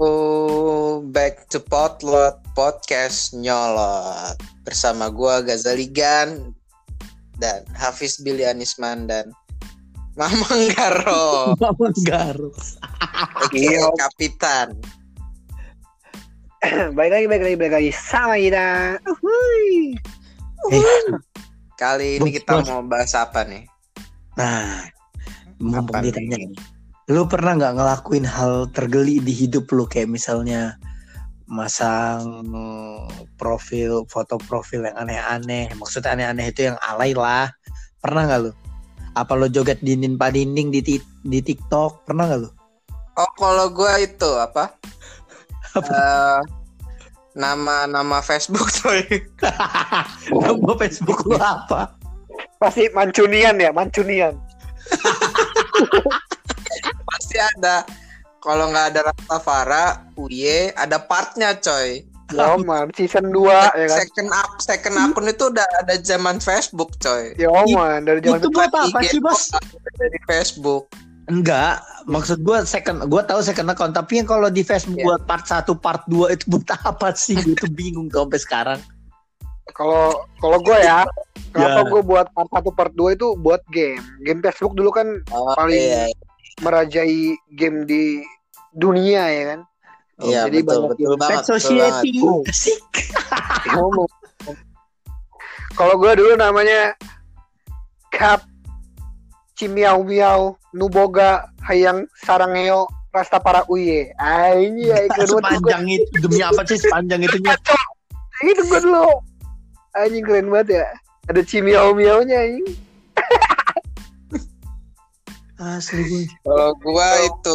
Back to Potlot Podcast Nyolot bersama gua Ghazali Gan dan Hafiz Billy Anisman dan Mamang Garo. Oke, Kapitan. Baik lagi sama kita. Kali ini kita mau bahas apa nih? Nah, mumpung ditanya nih, lu pernah nggak ngelakuin hal tergeli di hidup lu, kayak misalnya masang foto profil yang aneh-aneh, maksudnya aneh-aneh itu yang alay lah, pernah nggak lu? Apa lu joget dinding di TikTok, pernah nggak lu? Oh, kalau gua itu apa? Nama Facebook coy. Nama Facebook lu apa? Pasti Mancunian. Pasti ada. Kalau nggak ada Rastafara, Uye, ada partnya coy. Ya man, season 2 ya kan. Second akun itu udah ada zaman Facebook coy. Ya man, dari zaman itu buat apa sih, Bos? Dari Facebook. Enggak, maksud gue tahu second account, tapi yang kalau di Facebook buat part 1, part 2 itu buat apa sih? Gue tuh bingung tuh sampai sekarang. Kalau gue ya, kenapa gue buat part 1 part 2 itu buat game. Game Facebook dulu kan paling merajai game di dunia ya kan. Iya, jadi betul banget. Society. Asik. Kalau gue dulu namanya Kap Cimiau Miau Nuboga Hayang Sarangeo Rastafara Uye. Sepanjang itu demi apa sih sepanjang itunya? Itu gue dulu. Anjing keren banget ya. Ada Cimiau Miaunya anjing. Asli gue. Kalau gue itu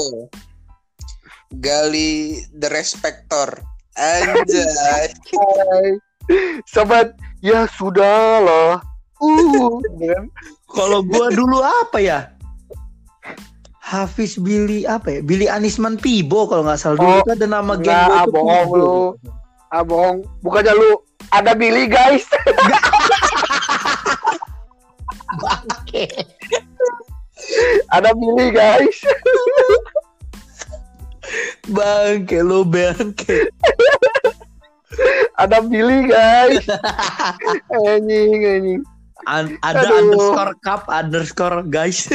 Gali the Respector. Anjay. Sobat, ya sudahlah. Kalau gua dulu apa ya? Hafiz Billy apa ya? Billy Anisman Pibo kalau nggak salah dulu itu ada nama geng gua itu. Bohong lu. Bohong. Bukannya lu ada Billy guys. Ada Billy guys. Bangke. Ada Billy guys. Anjing. Ada _cup guys.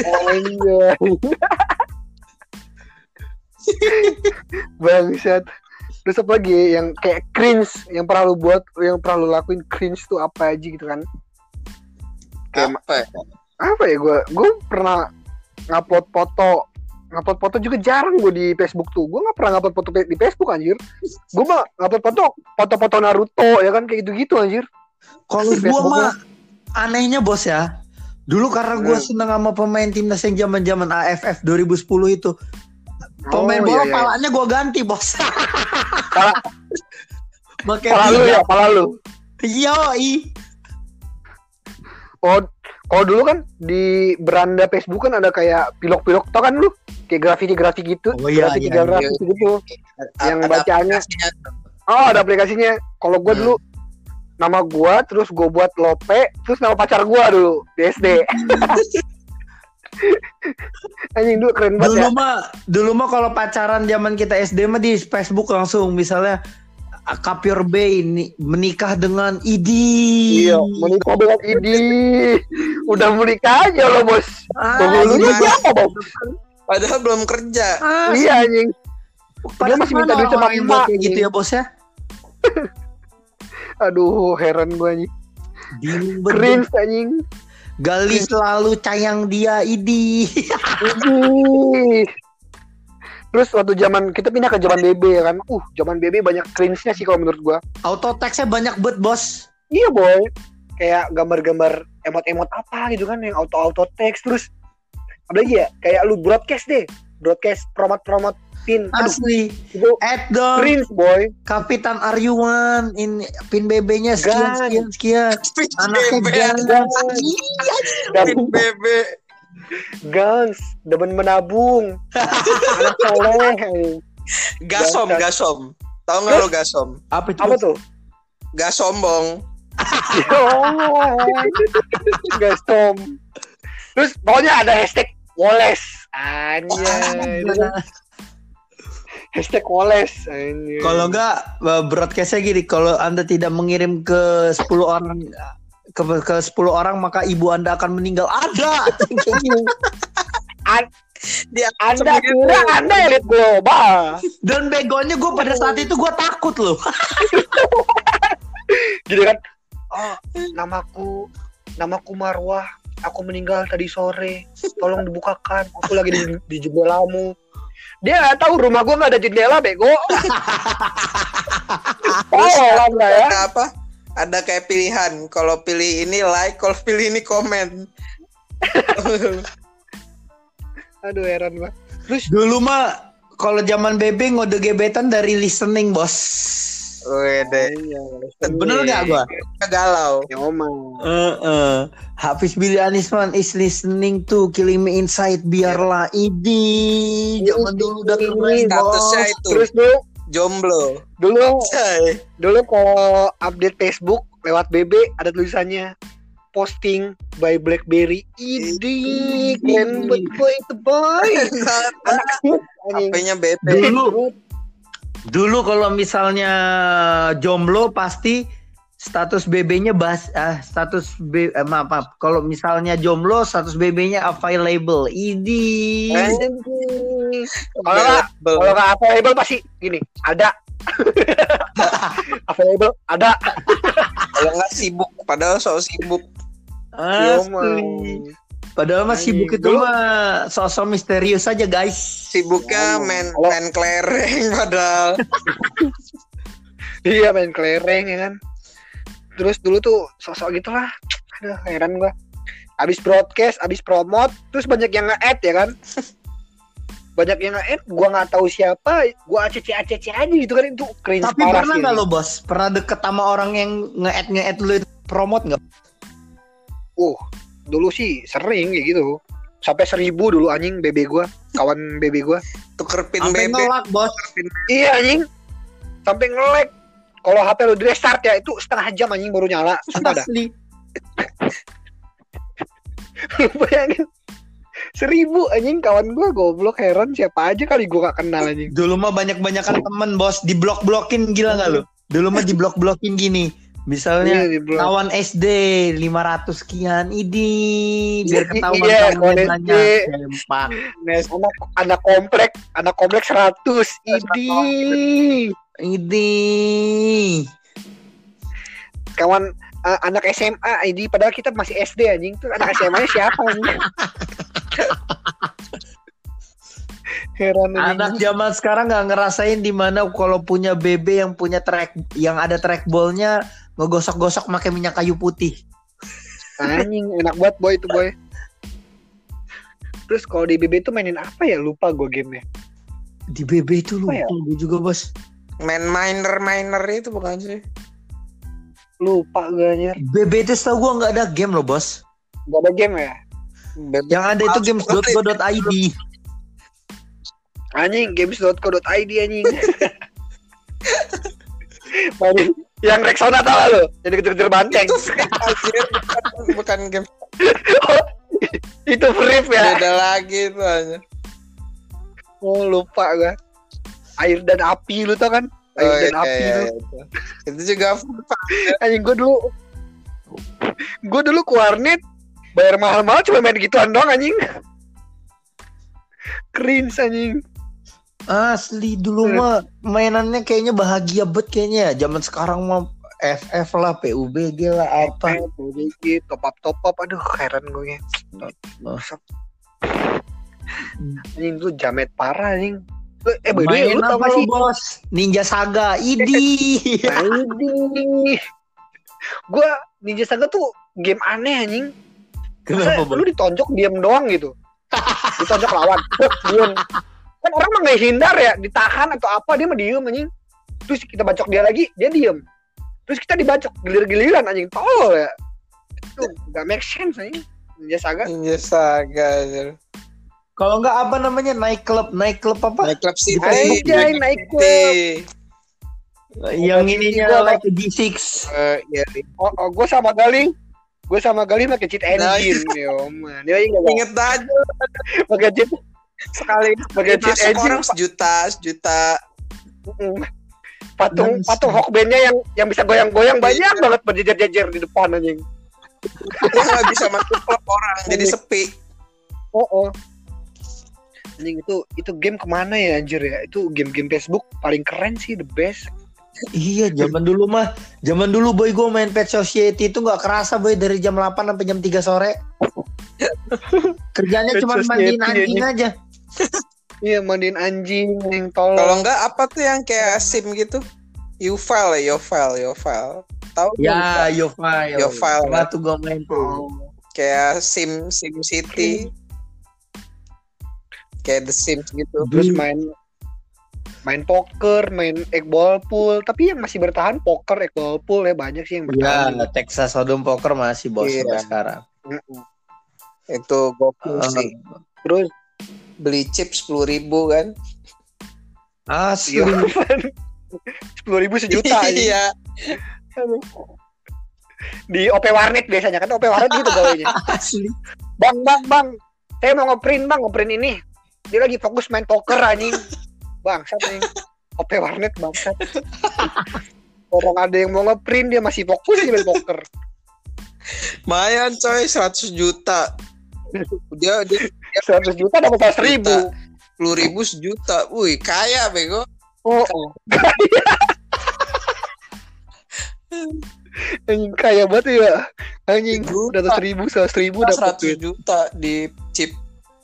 Bangsat. Terus apa lagi yang kayak cringe yang pernah lu buat, yang pernah lu lakuin cringe tuh apa aja gitu kan? Kayak apa ya, gue pernah ngupload foto juga jarang gue di Facebook tuh. Gue nggak pernah ngupload foto di Facebook anjir. Gue mah ngupload foto Naruto ya kan, kayak gitu anjir. Kalau gue mah anehnya bos ya, dulu karena gue seneng sama pemain timnas yang zaman AFF 2010 itu, pemain bola palanya gue ganti bos. Pala lu. Yoi. Kalau dulu kan di beranda Facebook kan ada kayak pilok tau kan lu, kayak grafiti gitu. Grafiti gitu. Yang bacaannya. Ada aplikasinya. Kalau gue dulu nama gue, terus gue buat Lope, terus nama pacar gue dulu di SD. Anjing dulu keren banget. Dulu mah kalau pacaran zaman kita SD mah di Facebook langsung, misalnya Kapyor B ini menikah dengan Idi. Iya, menikah dengan Idi. Udah menikah aja lo bos. Dulunya siapa bos? Padahal belum kerja. Iya anjing. Dia masih minta duit sama emak gitu ya bos ya. Aduh, heran gue anjing. Cringe anjing. Gali selalu sayang dia Idi. Terus waktu kita pindah ke zaman BB ya kan. Zaman BB banyak cringe-nya sih kalau menurut gue. Auto text-nya banyak banget bos. Iya boy. Kayak gambar-gambar emot-emot apa gitu kan yang auto text. Terus apa lagi ya? Kayak lu broadcast promote pin. Asli. Itu cringe boy. Kapitan Aryuan in pin BB-nya sekian. Anaknya pin BB. Gans, demen menabung. Anak soleh. Gasom. Tahu nggak lo gasom? Apa tuh? Gas sombong. Gasom. Terus pokoknya ada hashtag Woles. Anjay. Hashtag Woles. Kalau enggak broadcastnya gini, kalau Anda tidak mengirim ke 10 orang ke 10 orang maka ibu Anda akan meninggal. Ada kayak gini. Anda kira Anda elit global. Dan begonya gue pada saat itu gue takut loh. Gini kan, oh, namaku Marwah, aku meninggal tadi sore, tolong dibukakan, aku lagi di jendelamu. Dia nggak tahu rumah gue nggak ada jendela, bego. Terus ya? Apa? Ada kayak pilihan, kalau pilih ini like, kalau pilih ini komen. Aduh heran banget. Terus dulu mah kalau zaman BB ngode gebetan dari listening, bos. Wede. Bener nggak gua? Galau. Ya omong. Hafiz Billy Anisman is listening to Killing Me Inside biarlah ini. Zaman dulu udah keren, statusnya itu. Terus dulu jomblo. Dulu kalau update Facebook lewat BB ada tulisannya posting by BlackBerry. Idi keren banget boy itu boy. HP-nya BB. Dulu kalau misalnya jomblo pasti status BB-nya maaf. Kalau misalnya jomblo status BB-nya available. Idi. Kalau nggak available pasti gini, ada. Available ada. Kalau nggak sibuk, padahal sok sibuk. Asli. Padahal mah sibuk itu mah sosok misterius aja guys. Sibuknya main kelereng padahal. Iya main kelereng ya kan. Terus dulu tuh sosok gitulah. Aduh heran gua. Abis broadcast, abis promote, terus banyak yang nge-add ya kan. Banyak yang nge-add, gua nggak tahu siapa, gua acc aja gitu kan, itu cringe. Tapi pernah nggak lo bos? Pernah deket sama orang yang nge-add lu promote nggak? Dulu sih sering kayak gitu. Sampai 1000 dulu anjing BB gua, kawan BB gua. Tuker pin sampai BB. Ngelak, bos. Iya anjing. Sampai nge-lag. Kalau HP lu di restart ya itu setengah jam anjing baru nyala. Sumpah dah. Asli. Lu bayangin 1000 anjing kawan gua goblok, heran siapa aja kali gua gak kenal anjing. Dulu mah banyak-banyakan temen bos, diblok-blokin gila gak lu? Dulu mah diblok-blokin gini. Misalnya kawan SD 500 sekian idi biar ketahuan kawannya sempak. Anak komplek 100 idi. Kawan anak SMA idi padahal kita masih SD anjing. Tuh anak SMA-nya siapa anjing? Heran anak zaman sekarang nggak ngerasain di mana kalau punya BB yang punya yang ada trackballnya ngegosok-gosok pakai minyak kayu putih. Anjing enak banget boy itu boy. Terus kalau di BB itu mainin apa ya, lupa gue gamenya. Di BB itu lupa gue juga bos. Main miner itu bukan sih? Lupa gue anjir. BB itu setahu gue nggak ada game loh bos. Nggak ada game ya? Yang ada itu games.co.id. Anjing games.co.id anjing. Mainin yang Rexona tau lo, yang dikejar-kejar banteng. Itu bukan game. Itu free ya. Beda lagi itu aja. Oh lupa gue. Air dan api lu tau kan? Air dan api lu. Itu juga anjing gue dulu ke warnet bayar mahal-mahal cuma main gituan doang anjing. Cringe anjing. Asli dulu mah mainannya kayaknya bahagia banget kayaknya. Zaman sekarang mah FF lah, PUBG lah apa. PUBG top up aduh heran gue. Anjing tuh jamet parah anjing. Main lu apa sih bos? Ninja Saga, idi. Gue Ninja Saga tuh game aneh anjing. Kenapa lu ditonjok diam doang gitu. Ditonjok lawan, diam. Kan orang mah nggak hindar ya, ditahan atau apa dia mah diem anjing. Terus kita bacok dia lagi, dia diem. Terus kita dibacok gilir-giliran anjing, tolol ya. Itu nggak make sense anjing. Ninja Saga. Kalau nggak apa namanya naik klub apa? Naik klub sih. Naik klub. Yang ininya like G6. Gue sama Galing pakai cheat engine, yo man. Dia inget aja pakai cheat. sekali sebagai cheat masuk engine orang sejuta. patung Hawkband-nya yang bisa goyang-goyang banyak banget berjejer-jejer di depan anjing. Dia nggak bisa masuk klub orang, jadi sepi. Anjing itu game kemana ya anjir ya? Itu game-game Facebook paling keren sih, the best. Iya, zaman dulu boy gue main Pet Society itu nggak kerasa boy, dari jam 8 sampai jam 3 sore. Kerjanya cuma mandiin anjing aja. Iya, mandiin anjing yang tolong. Kalau enggak apa tuh yang kayak SIM gitu? Yofile. Tahu? Ya, Yofile. Pernah tuh gue main tuh. Kayak SIM City. Kayak The Sims gitu. Terus main poker, main egg ball pool, tapi yang masih bertahan poker, egg ball pool ya banyak sih yang bertahan. Ya, Texas Hold'em poker masih bos sampai sekarang. Itu gokil sih. Terus beli chip 10.000 kan? Asli. 10.000 sejuta aja. Iya. Di OP Warnet biasanya kan, OP Warnet gitu gawainya. Asli. Bang, saya mau ngeprint ini. Dia lagi fokus main poker anjing. Bangsat nih. OP Warnet bangsat. Orang ada yang mau ngeprint dia masih fokus di main poker. Mayan coy, 100 juta. Dia 100 juta dapat 100.000. 10.000 sejuta. Wih, kaya bego. Anjing kaya banget ya. Anjing 100.000, 100.000 dapat 100 juta di chip.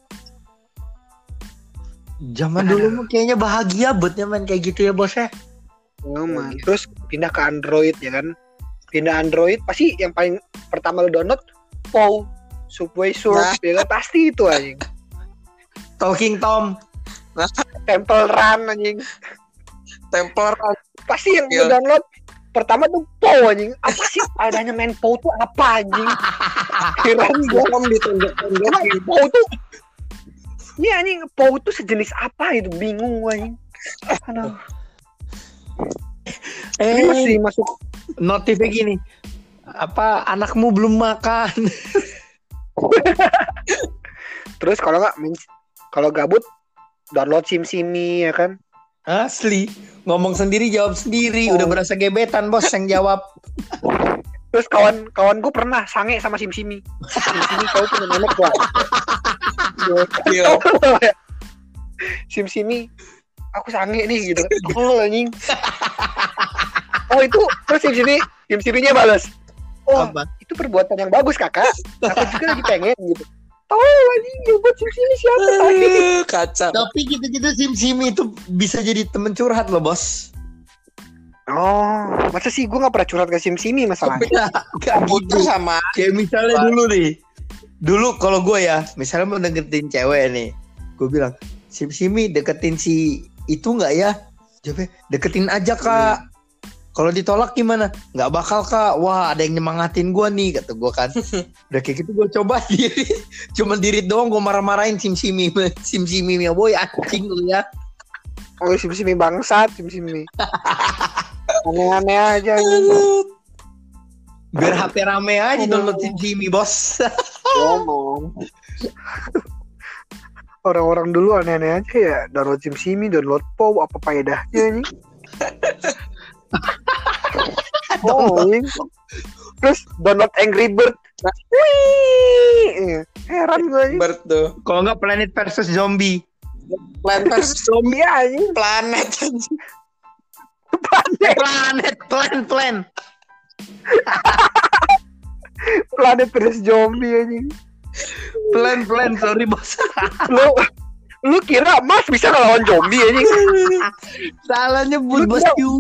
Zaman dulu mah kayaknya bahagia buatnya main kayak gitu ya bos ya. Man. Terus pindah ke Android ya kan. Pindah Android pasti yang paling pertama lo download POW, Subway Surf ya kan, pasti itu anjing. Talking Tom, Temple Run anjing. Pasti yang lo download pertama tuh POW anjing. Apa sih adanya main POW tuh apa anjing? Kirain gua ditonjok-tonjokin POW tuh. Ini anjing POW tuh sejenis apa itu, bingung anjing. Aduh. Masih masuk notifnya gini. Apa anakmu belum makan? Terus kalau gabut download SimSimi ya kan. Asli, ngomong sendiri jawab sendiri, udah berasa gebetan bos yang jawab. Terus kawan gue pernah sange sama SimSimi. SimSimi kau punya memek gua. SimSimi aku sange nih gitu. Oh anjing. Oh itu terus SimSimi-nya balas. Oh apa? Itu perbuatan yang bagus kakak. Aku juga lagi pengen gitu. Oh anjing buat SimSimi siapa tadi? Kacau. Tapi gitu-gitu SimSimi itu bisa jadi temen curhat loh bos. Oh, masa sih gue gak pernah curhat ke SimSimi masalahnya. Gak gitu sama. Kayak misalnya dulu nih. Dulu kalau gue ya, misalnya mau deketin cewek nih, gue bilang, SimSimi deketin si itu gak ya? Jawabnya, deketin aja kak. Kalau ditolak gimana? Gak bakal kak. Wah ada yang nyemangatin gue nih, kata gue kan. Udah kayak gitu gue coba diri. Cuma diri doang gue marah-marahin SimSimi ya boy, anjing lu ya. Oh SimSimi bangsat, SimSimi. Aneh-aneh aja biar HP rame aja download SimSimi bos. Orang-orang dulu aneh-aneh aja ya, download SimSimi, download POW, apa faedahnya nih? Terus download Angry Bird. Wih, heran gue. Bird tuh. Kalau nggak Planet versus Zombie. Planet versus Zombie aja. Planet versus Zombie anjing. Plan sorry bos. Lu kira Mas bisa ngelawan zombie anjing? Salah nyebut bos you.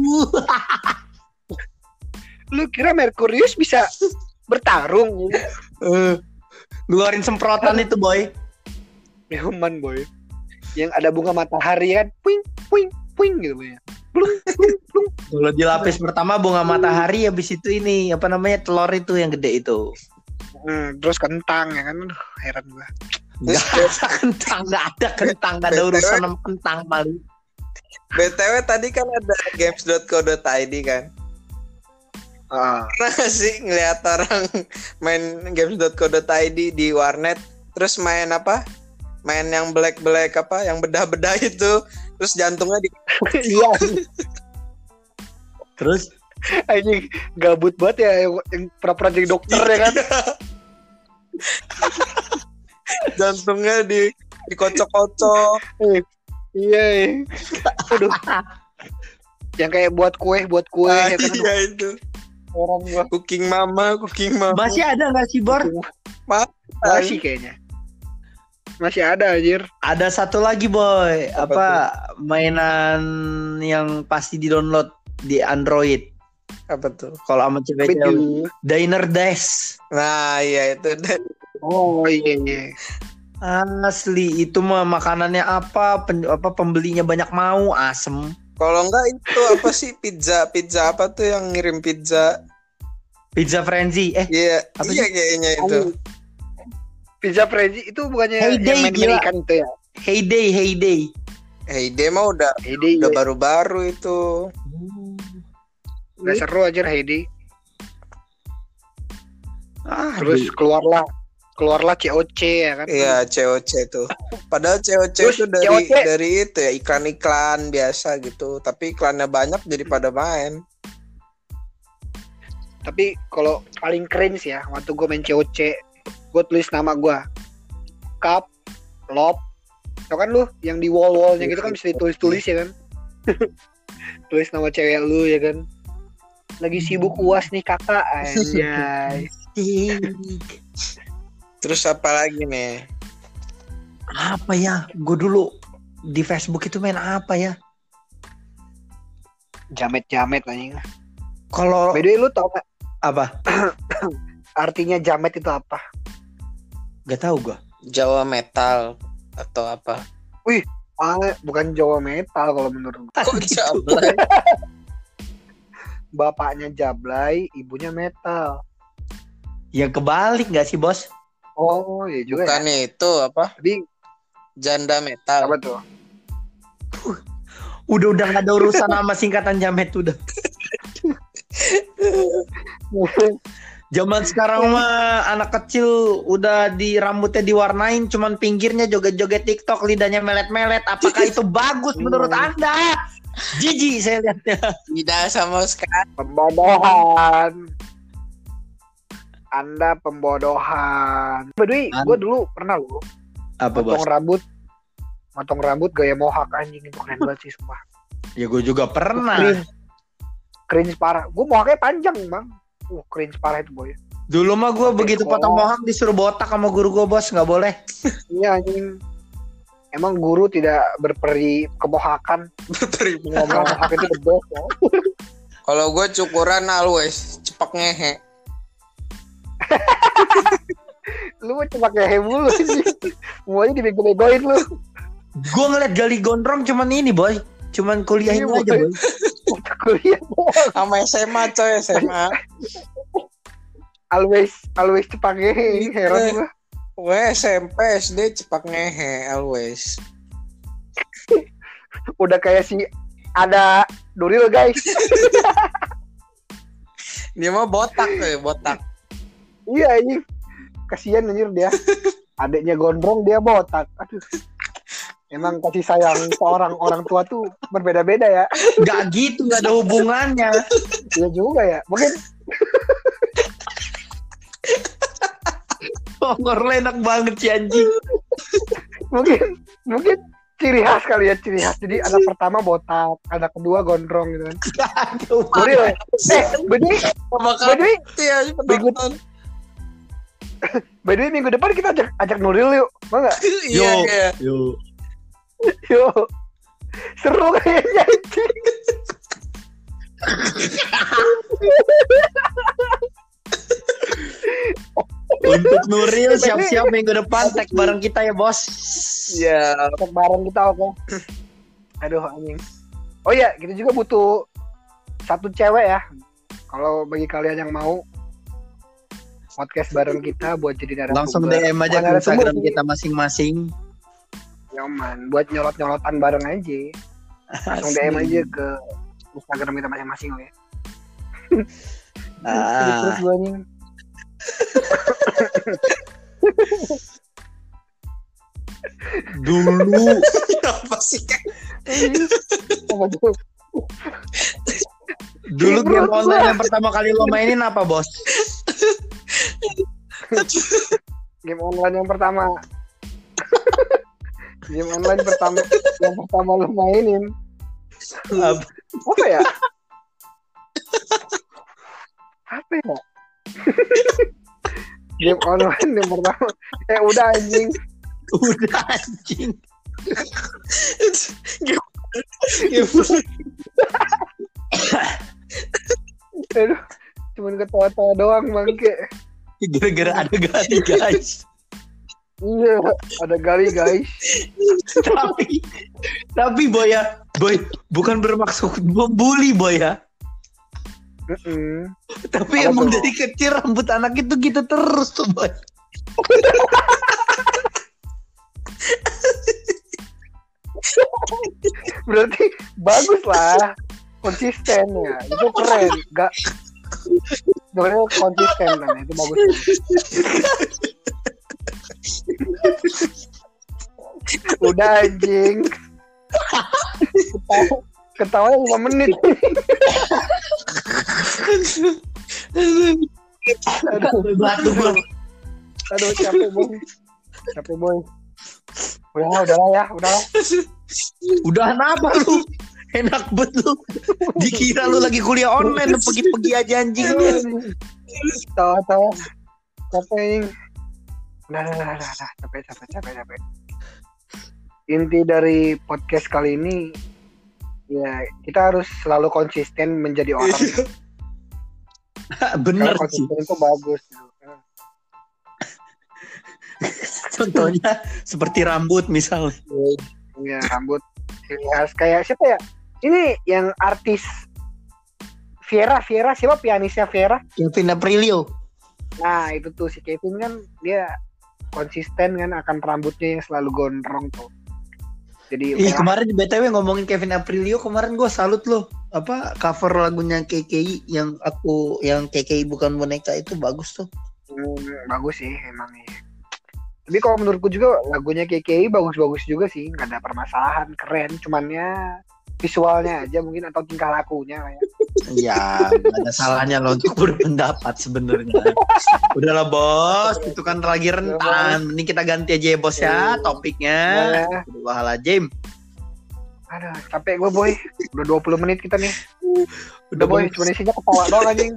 Lu kira Merkurius bisa bertarung? Ngeluarin semprotan itu boy. Human boy. Yang ada bunga matahari kan, puing puing puing gitu boy. Plung plung plung. Kalau di lapis pertama bunga matahari, habis itu ini apa namanya telur itu yang gede itu. Terus kentang ya kan, aduh heran gua. Nggak ada kentang, nggak ada urusan sama kentang paling. BTW tadi kan ada games.co.id kan. Pernah gak sih ngeliat orang main games.co.id di warnet terus main apa? main yang black apa, yang bedah-bedah itu, terus jantungnya di. Iya. Terus Anjing gabut banget ya yang pura-pura jadi dokter ya kan. Jantungnya dikocok-kocok. Iya. Aduh. Yang kayak buat kue ya kan. Iya itu. Orang gua. Cooking mama. masih ada nggak sih Bor? Masih kayaknya. Masih ada anjir. Ada satu lagi Boy, apa mainan yang pasti di-download di Android. Apa tuh? Kalau sama cewek-cewek, Diner Dash. Nah, iya itu. Oh iya. Asli itu mah makanannya apa pembelinya banyak mau, asem. Kalau enggak itu apa sih pizza apa tuh yang ngirim pizza? Pizza Frenzy. Iya, kayaknya itu. Pizza Frenzy itu bukannya Heyday, yang main ikan itu ya? Heyday mah udah Heyday, baru-baru itu. Udah seru aja Heyday. Terus Terus keluarlah COC ya kan? Iya, COC itu. Padahal COC Terus itu COC dari itu ya, iklan-iklan biasa gitu. Tapi iklannya banyak jadi pada main. Tapi kalau paling keren sih ya, waktu gue main COC, gue tulis nama gue, Cup, Lop, tau kan lu yang di wall-wallnya gitu kan bisa ditulis-tulis ya kan? Tulis nama cewek lu ya kan? Lagi sibuk UAS nih kakak, anjay. Terus apa lagi nih? apa ya? Gue dulu di Facebook itu main apa ya? Jamet anjing. Kalau By the way, lu tau gak apa? artinya jamet itu apa? Gak tahu gue. Jawa metal atau apa? Bukan Jawa metal kalau menurut gue. Kok jablay? Bapaknya Jablay, ibunya metal. Yang kebalik gak sih bos? Oh iya juga. Bukan ya. itu apa? Tapi Janda metal. apa tuh? Udah gak ada urusan sama singkatan jamet udah. Zaman sekarang mah anak kecil udah di rambutnya diwarnain, cuman pinggirnya joget-joget TikTok, lidahnya melet-melet. Apakah itu bagus menurut Anda? Jijik saya lihatnya. Tidak sama sekali. Pembodohan. Anda pembodohan. By the way, gue dulu pernah loh Apa bos? motong rambut gaya mohawk, anjing itu keren banget sih sumpah. Ya gue juga pernah. Cringe parah. Gue mohawknya panjang bang. Cringe parah itu boy. Dulu mah gue begitu potong mohawk disuruh botak sama guru gue bos, nggak boleh. Iya anjing. Emang guru tidak berperi kemohakan. Ngomong mohawk itu the best ya. Kalau gue cukuran always cepak ngehe. Lu mau cepak ngehe mulu sih. Semuanya dibego-begoin lu. Gue ngeliat Gali Gondrong cuman ini boy, cuman kuliahnya aja boy. Kuliah Sama SMA coy, SMA. always cepak ngehe. Heran gua. Gue SMP SD cepak ngehe always. Udah kayak si ada Nuril guys. Dia mah botak. Iya ini kasihan anjir dia. Adiknya gondrong dia botak. Aduh. Emang kasih sayang seorang orang tua tuh berbeda-beda ya. Gak gitu, gak ada hubungannya. Iya juga ya. Mungkin Ngorle enak banget sih anjing. mungkin ciri khas kali ya, ciri khas. Jadi anak pertama botak, anak kedua gondrong gitu kan. Nuril. By the way, minggu depan kita ajak Nuril yuk. Mau enggak? Yo. Yuk. Seru kayaknya anjing. Untuk Nuril siap-siap minggu depan tag bareng kita ya bos. Iya, tag bareng kita oke. Aduh anjing. Oh iya, kita juga butuh satu cewek ya. Kalau bagi kalian yang mau podcast bareng kita buat jadi narasumber. Langsung DM aja ke Instagram kita masing-masing. Nyaman, buat nyolot-nyolotan bareng aja. Langsung DM aja ke Instagram kita masing-masing ya. Terus gue nih. Dulu Apa sih kan? Apa tuh? Dulu game online yang pertama kali lo mainin apa, Bos? Game online yang pertama. Game online yang pertama lo mainin. Apa ya? Apa ya? Game online yang pertama. Udah anjing. Udah anjing. Aduh, cuman ketawa-tawa doang bangke. Gara-gara ada gali, guys. Iya, ada gali guys. Tapi boy, bukan bermaksud membuli boy ya. Tapi Apa emang tuh? dari kecil rambut anak itu gitu terus tuh boy. Berarti bagus lah, konsisten ya, itu keren. Gak, sebenarnya konsisten kan, itu bagus. Udah anjing. Ketawa 5 menit. Aduh, capek boy. Udahlah ya. Udah apa lu? Enak bet lu. Dikira lu lagi kuliah online, pergi-pergi aja anjingnya. Tawa. Capek. Udah. Capek. Inti dari podcast kali ini, ya kita harus selalu konsisten menjadi orang. Bener Karena sih. konsisten itu bagus. Contohnya seperti rambut misalnya. Ya, rambut kayak siapa ya? Ini yang artis Viera siapa pianisnya Viera? Kevin Aprilio. Nah, itu tuh si Kevin kan dia konsisten kan akan rambutnya yang selalu gondrong tuh. Jadi Kemarin di BTW ngomongin Kevin Aprilio, kemarin gue salut loh. Apa cover lagunya KKI yang KKI bukan boneka itu bagus tuh. Bagus sih emang ya. Tapi kalau menurutku juga lagunya KKI bagus-bagus juga sih, nggak ada permasalahan, keren. Cuman ya visualnya aja mungkin atau tingkah lakunya lah ya. Ya, nggak ada salahnya lo untuk berpendapat sebenarnya. Udahlah bos, itu kan lagi rentan. Mending kita ganti aja ya bos ya topiknya. Wahala Jim. Aduh, capek gue boy. Udah 20 menit kita nih. Udah boy, cuma isinya ketawa doang anjing.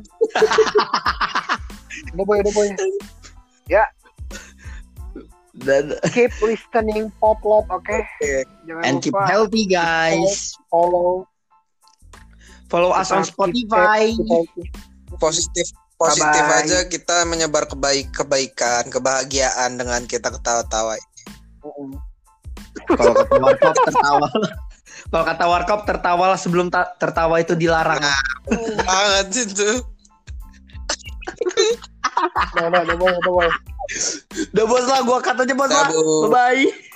Udah boy. Ya. Dan Keep listening Potlot, oke? Jangan and lupa keep healthy guys. Follow us on Spotify. Positif Bye-bye. aja, kita menyebar kebaikan, kebahagiaan dengan kita ketawa-tawa. Kalau kata Warkop tertawa. Kalau kata Warkop tertawalah sebelum tertawa itu dilarang. Banget itu. Udah boy. Udah bos lah, gua cut aja bos lah. Tabuk. Bye bye.